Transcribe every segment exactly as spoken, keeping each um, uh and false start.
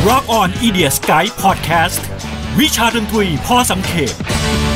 Rock On Idiot Sky Podcast วิชาดนตรีพอสังเขป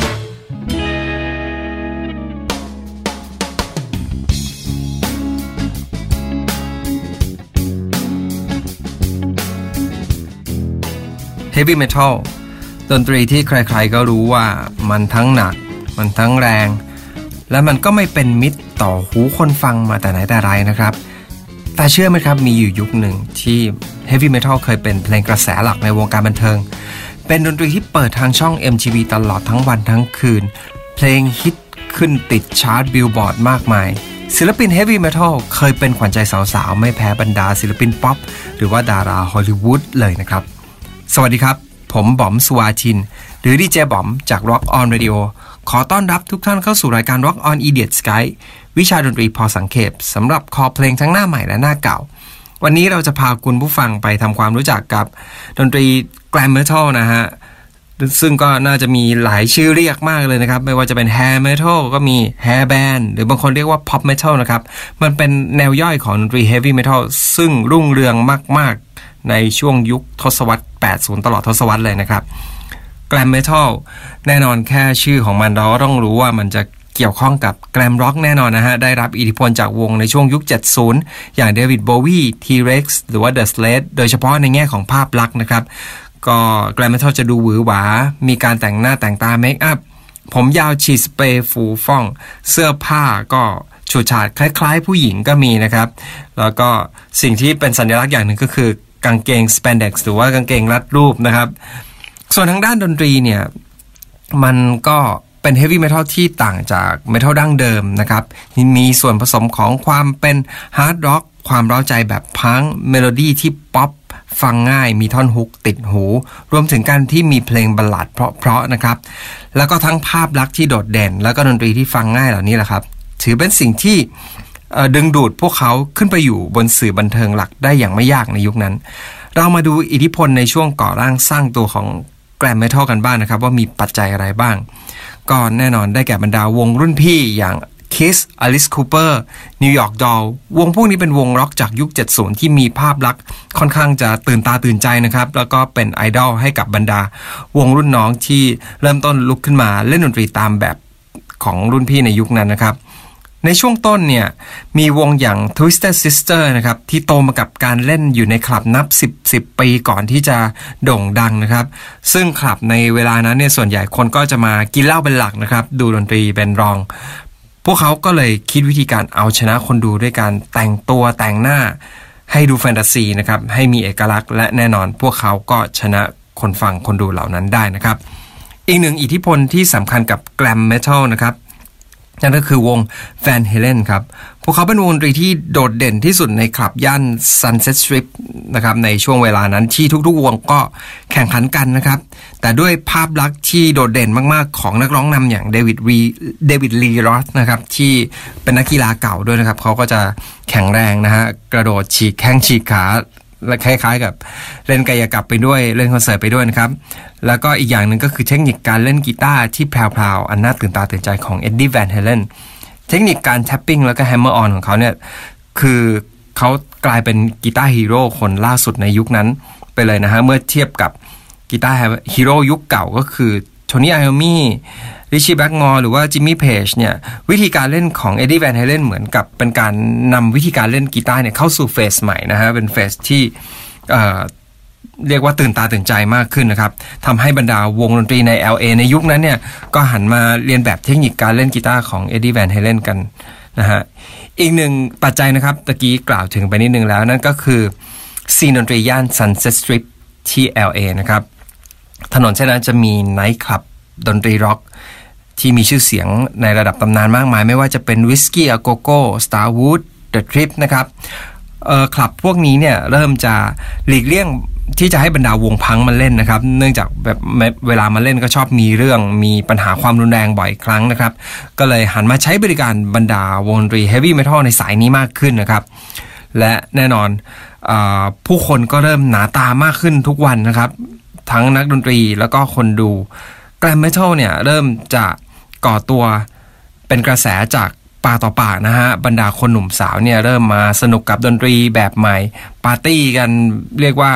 Heavy Metal ดนตรีที่ใครๆก็รู้ว่ามันทั้งหนักมันทั้งแรงและมันก็ไม่เป็นมิตรต่อหูคนฟังมาแต่ไหนแต่ไรนะครับแต่เชื่อไหมครับมีอยู่ยุคหนึ่งที่ Heavy Metal เคยเป็นเพลงกระแสหลักในวงการบันเทิงเป็นดนตรีที่เปิดทางช่อง เอ็ม ที วี ตลอดทั้งวันทั้งคืนเพลงฮิตขึ้นติดชาร์ตบิลบอร์ดมากมายศิลปิน Heavy Metal เคยเป็นขวัญใจสาวๆไม่แพ้บรรดาศิลปินป๊อปหรือว่าดาราฮอลลีวูดเลยนะครับสวัสดีครับผมบอมสุวาทินหรือดีเจบอมจาก Rock On Radio ขอต้อนรับทุกท่านเข้าสู่รายการ Rock On Idiot Sky วิชาดนตรีพอสังเขปสำหรับคอเพลงทั้งหน้าใหม่และหน้าเก่าวันนี้เราจะพาคุณผู้ฟังไปทำความรู้จักกับดนตรี Glam Metal นะฮะซึ่งก็น่าจะมีหลายชื่อเรียกมากเลยนะครับไม่ว่าจะเป็น Hair Metal ก็มี Hair Band หรือบางคนเรียกว่า Pop Metal นะครับมันเป็นแนวย่อยของดนตรี Heavy Metal ซึ่งรุ่งเรืองมากๆในช่วงยุคทศวรรษแปดสิบตลอดทศวรรษเลยนะครับ Glam Metal แน่นอนแค่ชื่อของมันเราก็ต้องรู้ว่ามันจะเกี่ยวข้องกับ Glam Rock แน่นอนนะฮะได้รับอิทธิพลจากวงในช่วงยุคเจ็ดสิบอย่าง David Bowie T-Rex หรือว่า The Slade โดยเฉพาะในแง่ของภาพลักษณ์นะครับก็ Glam Metal จะดูหวือหวามีการแต่งหน้าแต่งตาเมคอัพผมยาวฉีดสเปรย์ฟูฟ่องเสื้อผ้าก็ฉูดฉาดคล้ายๆผู้หญิงก็มีนะครับแล้วก็สิ่งที่เป็นสัญลักษณ์อย่างหนึ่งก็คือกางเกง spandex หรือว่ากางเกงรัดรูปนะครับส่วนทางด้านดนตรีเนี่ยมันก็เป็น heavy metal ที่ต่างจาก metal ดั้งเดิมนะครับมีส่วนผสมของความเป็น hard rock ความเร้าใจแบบพังเมโลดี้ที่ป๊อปฟังง่ายมีท่อนฮุกติดหูรวมถึงการที่มีเพลงบัลลัดเพราะๆนะครับแล้วก็ทั้งภาพลักษณ์ที่โดดเด่นแล้วก็ดนตรีที่ฟังง่ายเหล่านี้แหละครับถือเป็นสิ่งที่ดึงดูดพวกเขาขึ้นไปอยู่บนสื่อบันเทิงหลักได้อย่างไม่ยากในยุคนั้นเรามาดูอิทธิพลในช่วงก่อร่างสร้างตัวของ Glam Metal กันบ้าง นะครับว่ามีปัจจัยอะไรบ้างก็แน่นอนได้แก่บรรดาวงรุ่นพี่อย่าง Kiss Alice Cooper New York Doll วงพวกนี้เป็นวงร็อกจากยุคเจ็ดสิบที่มีภาพลักษณ์ค่อนข้างจะตื่นตาตื่นใจนะครับแล้วก็เป็นไอดอลให้กับบรรดาวงรุ่นน้องที่เริ่มต้นลุกขึ้นมาเล่นดนตรีตามแบบของรุ่นพี่ในยุคนั้นนะครับในช่วงต้นเนี่ยมีวงอย่าง Twisted Sister นะครับที่โตมากับการเล่นอยู่ในคลับนับสิบ สิบปีก่อนที่จะโด่งดังนะครับซึ่งคลับในเวลานั้นเนี่ยส่วนใหญ่คนก็จะมากินเหล้าเป็นหลักนะครับดูดนตรีเป็นรองพวกเขาก็เลยคิดวิธีการเอาชนะคนดูด้วยการแต่งตัวแต่งหน้าให้ดูแฟนตาซีนะครับให้มีเอกลักษณ์และแน่นอนพวกเขาก็ชนะคนฟังคนดูเหล่านั้นได้นะครับอีกหนึ่งอิทธิพลที่สำคัญกับ Glam Metal นะครับนั่นก็คือวง Van Halen ครับพวกเขาเป็นวงดนตรีที่โดดเด่นที่สุดในคลับย่าน Sunset Strip นะครับในช่วงเวลานั้นที่ทุกๆวงก็แข่งขันกันนะครับแต่ด้วยภาพลักษณ์ที่โดดเด่นมากๆของนักร้องนำอย่างเดวิดรีเดวิดลีรอสนะครับที่เป็นนักกีฬาเก่าด้วยนะครับเขาก็จะแข็งแรงนะฮะกระโดดฉีกแข้งฉีกขาและคล้ายๆกับเล่นกายกรรมไปด้วยเล่นคอนเสิร์ตไปด้วยนะครับแล้วก็อีกอย่างหนึ่งก็คือเทคนิคการเล่นกีตาร์ที่แพรวๆอันน่าตื่นตาตื่นใจของเอ็ดดี้แวนเฮเลนเทคนิคการแท็ปปิ้งแล้วก็แฮมเมอร์ออนของเขาเนี่ยคือเขากลายเป็นกีตาร์ฮีโร่คนล่าสุดในยุคนั้นไปเลยนะฮะเมื่อเทียบกับกีตาร์ฮีโร่ยุคเก่าก็คือโทนี่ไอโอมี่ริชี่แบล็กมอร์หรือว่าจิมมี่เพจเนี่ยวิธีการเล่นของเอ็ดดี้แวนเฮเลนเหมือนกับเป็นการนำวิธีการเล่นกีตาร์เนี่ยเข้าสู่เฟสใหม่นะฮะเป็นเฟสที่เอ่อเรียกว่าตื่นตาตื่นใจมากขึ้นนะครับทำให้บรรดาวงดนตรีใน แอล เอ ในยุคนั้นเนี่ยก็หันมาเรียนแบบเทคนิคการเล่นกีตาร์ของเอ็ดดี้แวนเฮเลนกันนะฮะอีกหนึ่งปัจจัยนะครับตะกี้กล่าวถึงไปนิดนึงแล้วนั่นก็คือซีนดนตรีย่าน Sunset Strip ที่ แอล เอ นะครับถนนเส้นนั้นจะมีไนท์คลับดนตรีร็อกที่มีชื่อเสียงในระดับตำนานมากมายไม่ว่าจะเป็นวิสกี้อะโกโก้ Starwood The Trip นะครับเอ่อคลับพวกนี้เนี่ยเริ่มจะหลีกเลี่ยงที่จะให้บรรดาวงพังมาเล่นนะครับเนื่องจากแบบเวลามาเล่นก็ชอบมีเรื่องมีปัญหาความรุนแรงบ่อยครั้งนะครับก็เลยหันมาใช้บริการบรรดาวงดนตรี Heavy Metal ในสายนี้มากขึ้นนะครับและแน่นอนเอ่อผู้คนก็เริ่มหนาตามากขึ้นทุกวันนะครับทั้งนักดนตรีแล้วก็คนดู Glam Metal เนี่ยเริ่มจะก่อตัวเป็นกระแสจากปากต่อปากนะฮะบรรดาคนหนุ่มสาวเนี่ยเริ่มมาสนุกกับดนตรีแบบใหม่ปาร์ตี้กันเรียกว่าแท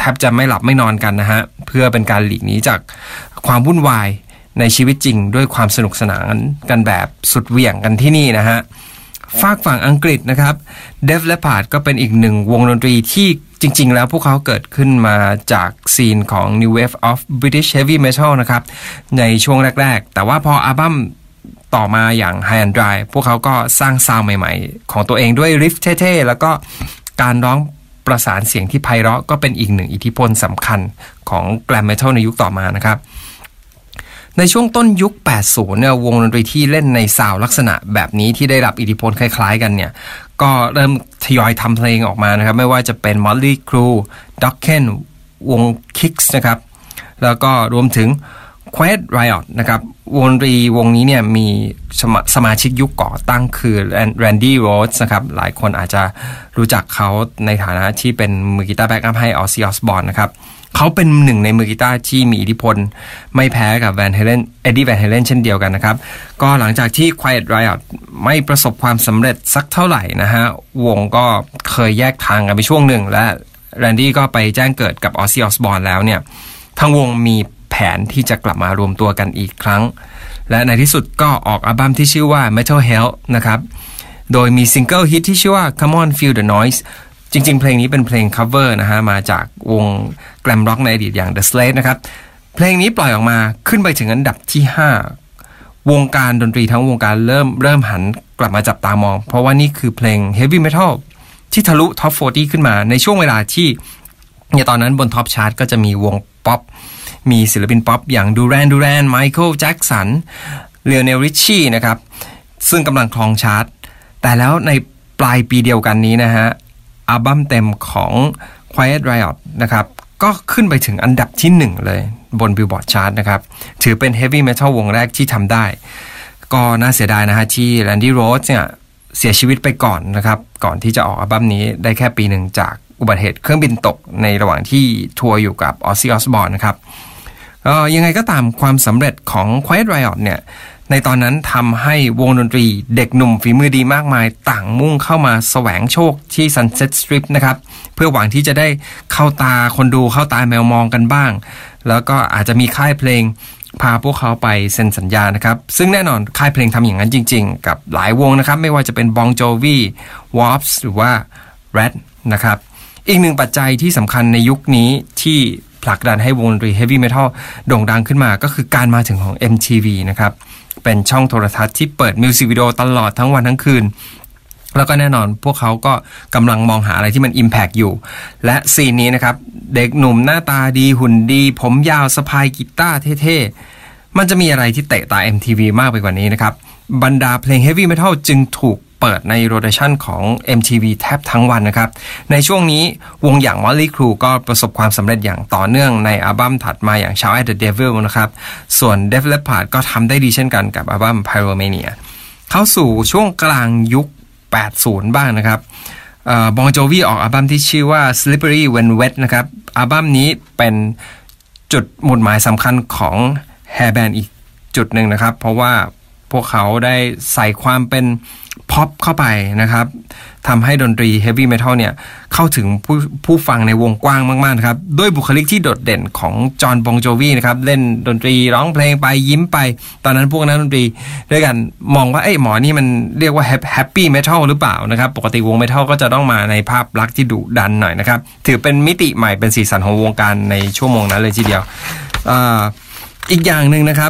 บจะไม่หลับไม่นอนกันนะฮะเพื่อเป็นการหลีกหนีจากความวุ่นวายในชีวิตจริงด้วยความสนุกสนานกันแบบสุดเหวี่ยงกันที่นี่นะฮะฝากฝั่งอังกฤษนะครับ Def Leppard ก็เป็นอีกหนึ่งวงดนตรีที่จริงๆแล้วพวกเขาเกิดขึ้นมาจากซีนของ New Wave of British Heavy Metal นะครับในช่วงแรกๆแต่ว่าพออัลบั้มต่อมาอย่าง High and Dry พวกเขาก็สร้างซาวด์ใหม่ๆของตัวเองด้วยริฟเท่ๆแล้วก็การร้องประสานเสียงที่ไพเราะก็เป็นอีกหนึ่งอิทธิพลสำคัญของแกรมเมทัลในยุคต่อมานะครับในช่วงต้นยุคแปดสิบเนี่ยวงดนตรีที่เล่นในซาวด์ลักษณะแบบนี้ที่ได้รับอิทธิพลคล้ายๆกันเนี่ยก็เริ่มทยอยทำเพลงออกมานะครับไม่ว่าจะเป็น Motley Crue Dokken วง Kicks นะครับแล้วก็รวมถึง Quiet Riot นะครับวงดนตรีวงนี้เนี่ยมีสมา, สมาชิกยุคก่อตั้งคือ Randy Rhoads นะครับหลายคนอาจจะรู้จักเขาในฐานะที่เป็นมือกีตาร์แบ็กอัพให้ Ozzy Osbourne นะครับเขาเป็นหนึ่งในมือกีตาร์ที่มีอิทธิพลไม่แพ้กับ Van Halen Eddie Van Halen เช่นเดียวกันนะครับก็หลังจากที่ Quiet Riot ไม่ประสบความสำเร็จสักเท่าไหร่นะฮะวงก็เคยแยกทางกันไปช่วงหนึ่งและ Randy ก็ไปแจ้งเกิดกับ Ozzy Osbourne แล้วเนี่ยทางวงมีแผนที่จะกลับมารวมตัวกันอีกครั้งและในที่สุดก็ออกอัลบั้มที่ชื่อว่า Metal Hell นะครับโดยมีซิงเกิลฮิตที่ชื่อว่า Come on Feel the Noise จริงๆเพลงนี้เป็นเพลง cover นะฮะมาจากวงแกรมร็อกในอดีตอย่าง The Slade นะครับเพลงนี้ปล่อยออกมาขึ้นไปถึงอันดับที่ห้าวงการดนตรีทั้งวงการเริ่มเริ่มหันกลับมาจับตามองเพราะว่านี่คือเพลง Heavy Metal ที่ทะลุท็อปสี่สิบขึ้นมาในช่วงเวลาที่ในตอนนั้นบนท็อปชาร์ตก็จะมีวงป๊อปมีศิลปินป๊อปอย่างดูแรนดูแรนไมเคิลแจ็คสันเลโอเนลริชชี่นะครับซึ่งกำลังครองชาร์ตแต่แล้วในปลายปีเดียวกันนี้นะฮะอัลบั้มเต็มของ Quiet Riot นะครับก็ขึ้นไปถึงอันดับที่หนึ่งเลยบน Billboard Chart นะครับถือเป็น Heavy Metal วงแรกที่ทำได้ก็น่าเสียดายนะฮะที่ Randy Rhoads เนี่ยเสียชีวิตไปก่อนนะครับก่อนที่จะออกอัลบั้มนี้ได้แค่ปีหนึ่งจากอุบัติเหตุเครื่องบินตกในระหว่างที่ทัวร์อยู่กับ Ozzy Osbourne นะครับเอ่อยังไงก็ตามความสำเร็จของ Quiet Riot เนี่ยในตอนนั้นทำให้วงดนตรีเด็กหนุ่มฝีมือดีมากมายต่างมุ่งเข้ามาแสวงโชคที่ Sunset Strip นะครับเพื่อหวังที่จะได้เข้าตาคนดูเข้าตาแมวมองกันบ้างแล้วก็อาจจะมีค่ายเพลงพาพวกเขาไปเซ็นสัญญานะครับซึ่งแน่นอนค่ายเพลงทำอย่างนั้นจริงๆกับหลายวงนะครับไม่ว่าจะเป็น Bon Jovi Wasp หรือว่า Rat นะครับอีกหนึ่งปัจจัยที่สำคัญในยุคนี้ที่ผลักดันให้วงดนตรี Heavy Metal โด่งดังขึ้นมาก็คือการมาถึงของ เอ็ม ที วี นะครับเป็นช่องโทรทัศน์ที่เปิดมิวสิกวิดีโอตลอดทั้งวันทั้งคืนแล้วก็แน่นอนพวกเขาก็กำลังมองหาอะไรที่มัน impact อยู่และซีนนี้นะครับเด็กหนุ่มหน้าตาดีหุ่นดีผมยาวสะพายกีตาร์เท่ๆมันจะมีอะไรที่เตะตา เอ็ม ที วี มากไปกว่านี้นะครับบรรดาเพลง Heavy Metal จึงถูกเปิดในโรเตชันของ เอ็ม ที วี แทบทั้งวันนะครับในช่วงนี้วงอย่าง Motley Crue ก็ประสบความสำเร็จอย่างต่อเนื่องในอัลบั้มถัดมาอย่าง Shout at the Devil นะครับส่วน Def Leppard ก็ทำได้ดีเช่นกันกับอัลบั้ม Pyromania เข้าสู่ช่วงกลางยุคแปดสิบบ้างนะครับเอ่อ Bon Jovi ออกอัลบั้มที่ชื่อว่า Slippery When Wet นะครับอัลบั้มนี้เป็นจุดหมุดหมายสำคัญของ Hair Band อีกจุดหนึ่งนะครับเพราะว่าพวกเขาได้ใส่ความเป็นพ็อปเข้าไปนะครับทำให้ดนตรี Heavy Metal เนี่ยเข้าถึงผู้ผู้ฟังในวงกว้างมากๆนะครับด้วยบุคลิกที่โดดเด่นของจอห์น บอง โจวีนะครับเล่นดนตรีร้องเพลงไปยิ้มไปตอนนั้นพวกนักดนตรีด้วยกันมองว่าเอ้ยหมอนี่มันเรียกว่า Happy Metal หรือเปล่านะครับปกติวง Metal ก็จะต้องมาในภาพลักษณ์ที่ดุดันหน่อยนะครับถือเป็นมิติใหม่เป็นสีสันของวงการในชั่วโมงนั้นเลยทีเดียว อ, อีกอย่างนึงนะครับ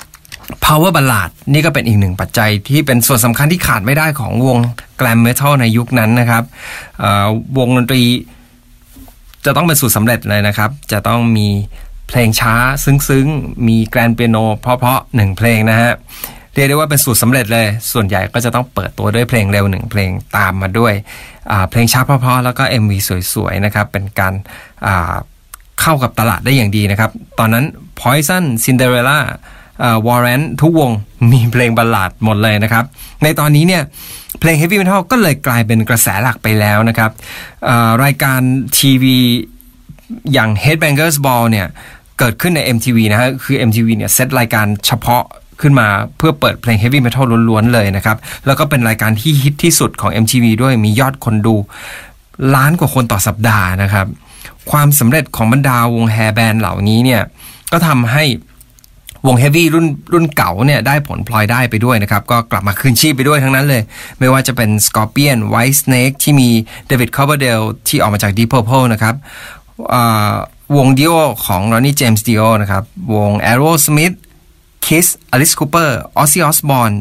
Power Ballad นี่ก็เป็นอีกหนึ่งปัจจัยที่เป็นส่วนสำคัญที่ขาดไม่ได้ของวง Glam Metal ในยุคนั้นนะครับวงดนตรีจะต้องเป็นสูตรสำเร็จเลยนะครับจะต้องมีเพลงช้าซึ้งๆมีแกรนด์เปียโนเพราะๆหนึ่งเพลงนะฮะเรียกได้ว่าเป็นสูตรสำเร็จเลยส่วนใหญ่ก็จะต้องเปิดตัวด้วยเพลงเร็วหนึ่งเพลงตามมาด้วยเพลงช้าเพราะๆแล้วก็ เอ็ม วี สวยๆนะครับเป็นการเข้ากับตลาดได้อย่างดีนะครับตอนนั้น Poison Cinderellaวอร์เรนทุกวงมีเพลงบัลลาดหมดเลยนะครับในตอนนี้เนี่ยเพลง Heavy Metal ก็เลยกลายเป็นกระแสหลักไปแล้วนะครับรายการทีวีอย่าง Headbangers Ball เนี่ยเกิดขึ้นใน เอ็ม ที วี นะฮะคือ เอ็ม ที วี เนี่ยเซตรายการเฉพาะขึ้นมาเพื่อเปิดเพลง Heavy Metal ล้วนๆเลยนะครับแล้วก็เป็นรายการที่ฮิตที่สุดของ เอ็ม ที วี ด้วยมียอดคนดูล้านกว่าคนต่อสัปดาห์นะครับความสำเร็จของบรรดาวงแฮร์แบนด์เหล่านี้เนี่ยก็ทำให้วงเฮฟวี่รุ่นรุ่นเก่าเนี่ยได้ผลพลอยได้ไปด้วยนะครับก็กลับมาคืนชีพไปด้วยทั้งนั้นเลยไม่ว่าจะเป็น Scorpion White Snake ที่มี David Coverdale ที่ออกมาจาก Deep Purple นะครับวง Dio ของ Ronnie James Dio นะครับวง Aerosmith Kiss Alice Cooper Ozzy Osbourne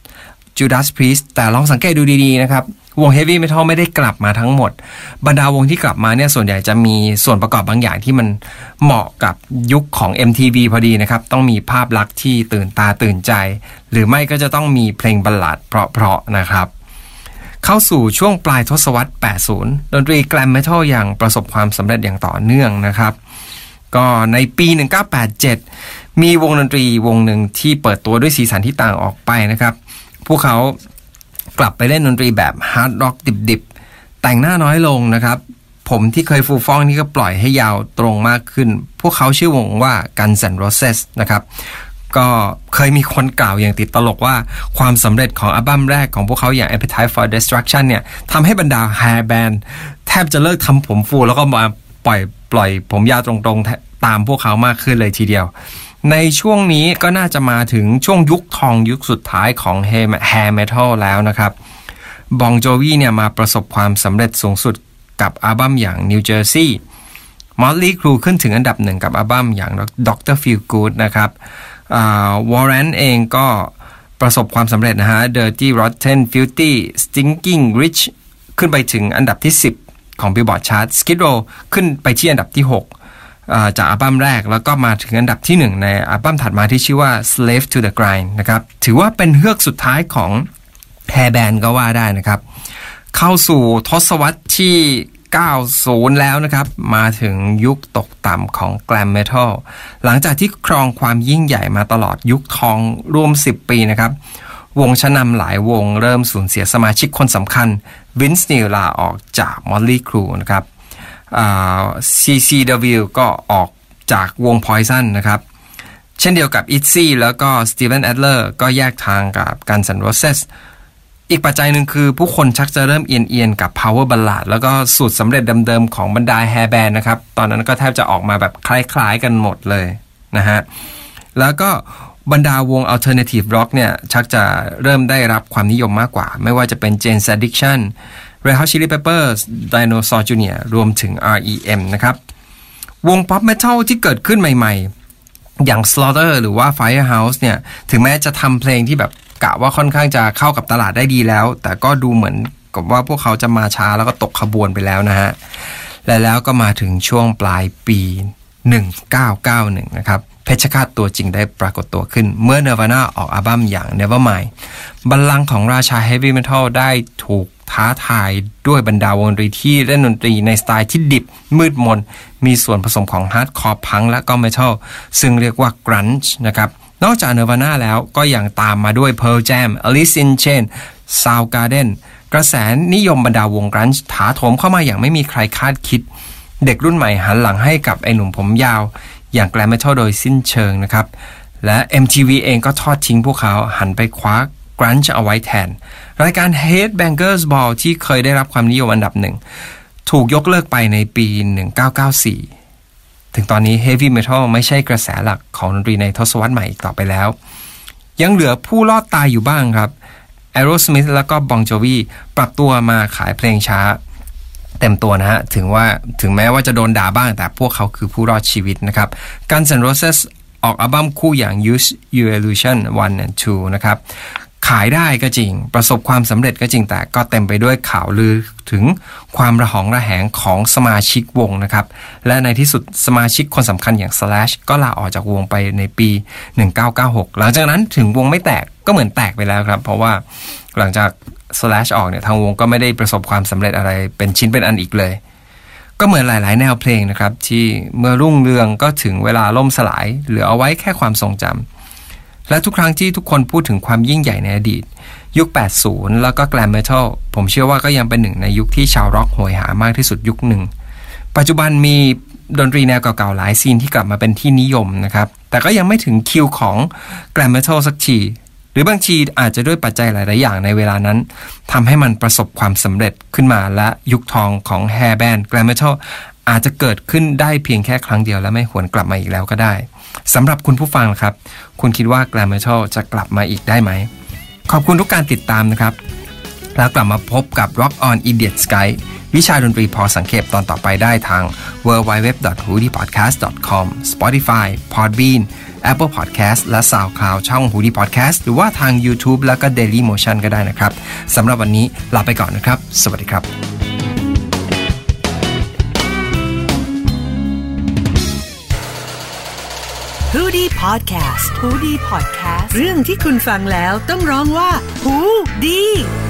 Judas Priest แต่ลองสังเกตดูดีๆนะครับวง Heavy Metal ไม่ได้กลับมาทั้งหมดบรรดาวงที่กลับมาเนี่ยส่วนใหญ่จะมีส่วนประกอบบางอย่างที่มันเหมาะกับยุคของ เอ็ม ที วี พอดีนะครับต้องมีภาพลักษณ์ที่ตื่นตาตื่นใจหรือไม่ก็จะต้องมีเพลงบัลลัดเพราะๆนะครับเข้าสู่ช่วงปลายทศวรรษแปดสิบดนตรีแกลมเมทัลอย่างประสบความสำเร็จอย่างต่อเนื่องนะครับก็ในปีหนึ่งเก้าแปดเจ็ดมีวงดนตรีวงหนึ่งที่เปิดตัวด้วยสีสันที่ต่างออกไปนะครับพวกเขากลับไปเล่นดนตรีแบบฮาร์ดร็อกดิบๆแต่งหน้าน้อยลงนะครับผมที่เคยฟูฟ่องนี่ก็ปล่อยให้ยาวตรงมากขึ้นพวกเขาชื่อวงว่า Guns N' Roses นะครับก็เคยมีคนกล่าวอย่างติดตลกว่าความสำเร็จของอัลบั้มแรกของพวกเขาอย่าง Appetite for Destruction เนี่ยทำให้บรรดาแฮร์แบนด์แทบจะเลิกทำผมฟูแล้วก็มาปล่อยปล่อยผมยาวตรงๆตามพวกเขามากขึ้นเลยทีเดียวในช่วงนี้ก็น่าจะมาถึงช่วงยุคทองยุคสุดท้ายของแฮร์เมทัลแล้วนะครับบองโจวีเนี่ยมาประสบความสำเร็จสูงสุดกับอัลบั้มอย่าง New Jersey Motley Crue ขึ้นถึงอันดับหนึ่งกับอัลบั้มอย่าง ด็อกเตอร์ Feel Good นะครับวอร์เรนเองก็ประสบความสำเร็จนะฮะ Dirty Rotten Filthy Stinking Rich ขึ้นไปถึงอันดับที่สิบของ Billboard Chart Skid Row ขึ้นไปที่อันดับที่หกจากอัลบั้มแรกแล้วก็มาถึงอันดับที่หนึ่งในอัลบั้มถัดมาที่ชื่อว่า Slave to the Grind นะครับถือว่าเป็นเฮือกสุดท้ายของแฮร์แบนด์ก็ว่าได้นะครับเข้าสู่ทศวรรษที่เก้าสิบแล้วนะครับมาถึงยุคตกต่ำของแกลมเมทัลหลังจากที่ครองความยิ่งใหญ่มาตลอดยุคทองรวมสิบปีนะครับวงชั้นนำหลายวงเริ่มสูญเสียสมาชิกคนสำคัญวินส์นิลลาออกจาก Motley Crue นะครับซี ซี ดับเบิลยู ก็ออกจากวง Poison นะครับเช่นเดียวกับ Itzy แล้วก็ Steven Adler ก็แยกทางกับ Guns N' Roses อีกปัจจัยหนึ่งคือผู้คนชักจะเริ่มเอียนๆกับ Power Ballad แล้วก็สูตรสำเร็จเดิมๆของบรรดาแฮร์แบนด์นะครับตอนนั้นก็แทบจะออกมาแบบคล้ายๆกันหมดเลยนะฮะแล้วก็บรรดาวง Alternative Rock เนี่ยชักจะเริ่มได้รับความนิยมมากกว่าไม่ว่าจะเป็น Jane's Addiction Red Hot Chili Peppers Dinosaur จูเนียร์ รวมถึง อาร์ อี เอ็ม นะครับวง Pop Metal ที่เกิดขึ้นใหม่ๆอย่าง Slaughter หรือว่า Firehouse เนี่ยถึงแม้จะทำเพลงที่แบบกะว่าค่อนข้างจะเข้ากับตลาดได้ดีแล้วแต่ก็ดูเหมือนกับว่าพวกเขาจะมาช้าแล้วก็ตกขบวนไปแล้วนะฮะและแล้วก็มาถึงช่วงปลายปีหนึ่งเก้าเก้าหนึ่งนะครับเพชรฆาตตัวจริงได้ปรากฏตัวขึ้นเมื่อ Nirvana ออกอัลบั้มอย่าง Nevermind บัลลังก์ของราชา Heavy Metal ได้ถูกท้าทายด้วยบรรดาวงดนตรีที่เล่นดนตรีในสไตล์ที่ดิบมืดมนมีส่วนผสมของฮาร์ดคอร์พังและก็เมทัลซึ่งเรียกว่า grunge นะครับนอกจาก Nirvana แล้วก็ยังตามมาด้วย Pearl Jam Alice in Chains Soundgarden กระแสนิยมบรรดาวง grunge ถาโถมเข้ามาอย่างไม่มีใครคาดคิดเด็กรุ่นใหม่หันหลังให้กับไอ้หนุ่มผมยาวอย่างแกลมเมทัลโดยสิ้นเชิงนะครับและ เอ็ม ที วี เองก็ทอดทิ้งพวกเขาหันไปคว้ากรันช์เอาไว้แทนรายการ Headbangers Ball ที่เคยได้รับความนิยมอันดับหนึ่งถูกยกเลิกไปในปีหนึ่งเก้าเก้าสี่ถึงตอนนี้ Heavy Metal ไม่ใช่กระแสหลักของดนตรีในทศวรรษใหม่อีกต่อไปแล้วยังเหลือผู้รอดตายอยู่บ้างครับ Aerosmith แล้วก็ Bon Jovi ปรับตัวมาขายเพลงช้าเต็มตัวนะฮะถึงว่าถึงแม้ว่าจะโดนด่าบ้างแต่พวกเขาคือผู้รอดชีวิตนะครับ Guns N' Roses ออกอัลบั้มคู่อย่าง Use Your Illusion วัน and ทู นะครับขายได้ก็จริงประสบความสำเร็จก็จริงแต่ก็เต็มไปด้วยข่าวลือถึงความระหองระแหงของสมาชิกวงนะครับและในที่สุดสมาชิกคนสำคัญอย่าง Slash ก็ลาออกจากวงไปในปีหนึ่งเก้าเก้าหกหลังจากนั้นถึงวงไม่แตกก็เหมือนแตกไปแล้วครับเพราะว่าหลังจาก Slash ออกเนี่ยทางวงก็ไม่ได้ประสบความสำเร็จอะไรเป็นชิ้นเป็นอันอีกเลยก็เหมือนหลายๆแนวเพลงนะครับที่เมื่อรุ่งเรืองก็ถึงเวลาล่มสลายเหลือเอาไว้แค่ความทรงจำและทุกครั้งที่ทุกคนพูดถึงความยิ่งใหญ่ในอดีตยุคแปดสิบแล้วก็แกลมเมทัลผมเชื่อว่าก็ยังเป็นหนึ่งในยุคที่ชาวร็อกโหยหามากที่สุดยุคหนึ่งปัจจุบันมีดนตรีแนวเก่าๆหลายซีนที่กลับมาเป็นที่นิยมนะครับแต่ก็ยังไม่ถึงคิวของแกลมเมทัลสักทีหรือบางทีอาจจะด้วยปัจจัยหลายๆอย่างในเวลานั้นทำให้มันประสบความสำเร็จขึ้นมาและยุคทองของแฮร์แบนด์แกลมเมทัลอาจจะเกิดขึ้นได้เพียงแค่ครั้งเดียวและไม่หวนกลับมาอีกแล้วก็ได้สำหรับคุณผู้ฟังครับคุณคิดว่า Glam Metal จะกลับมาอีกได้ไหมขอบคุณทุกการติดตามนะครับแล้วกลับมาพบกับ Rock on Idiot Sky วิชาดนตรีพอสังเขปตอนต่อไปได้ทาง ดับเบิลยู ดับเบิลยู ดับเบิลยู ดอท ฮูดี้พอดแคสต์ ดอท คอม Spotify Podbean Apple Podcast และ SoundCloud ช่อง Hoodie Podcast หรือว่าทาง YouTube แล้วก็ Daily Motion ก็ได้นะครับสำหรับวันนี้ลาไปก่อนนะครับสวัสดีครับ Hoodie Podcast Hoodie Podcast เรื่องที่คุณฟังแล้วต้องร้องว่าหูดี